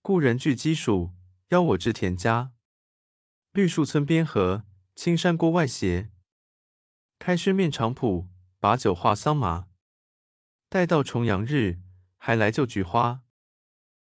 故人具鸡黍，邀我至田家。绿树村边合，青山郭外斜。开轩面场圃，把酒话桑麻。待到重阳日，还来就菊花。